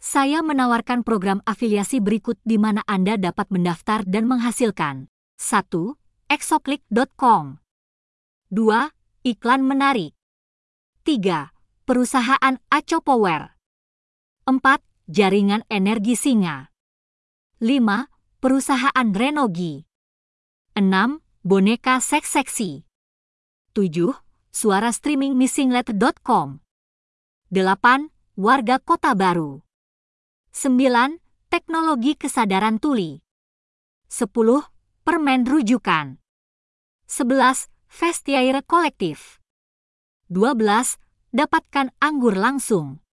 Saya menawarkan program afiliasi berikut di mana Anda dapat mendaftar dan menghasilkan. 1. Exoclick.com. 2. Iklan menarik. 3. Perusahaan Aco Power. 4. Jaringan energi Singa. 5. Perusahaan Renogi. 6. Boneka seks seksi. 7. Suara streaming missinglet.com. 8. Warga Kota Baru. 9. Teknologi kesadaran tuli. 10. Permen rujukan. 11. Vestiaire kolektif. 12. Dapatkan anggur langsung.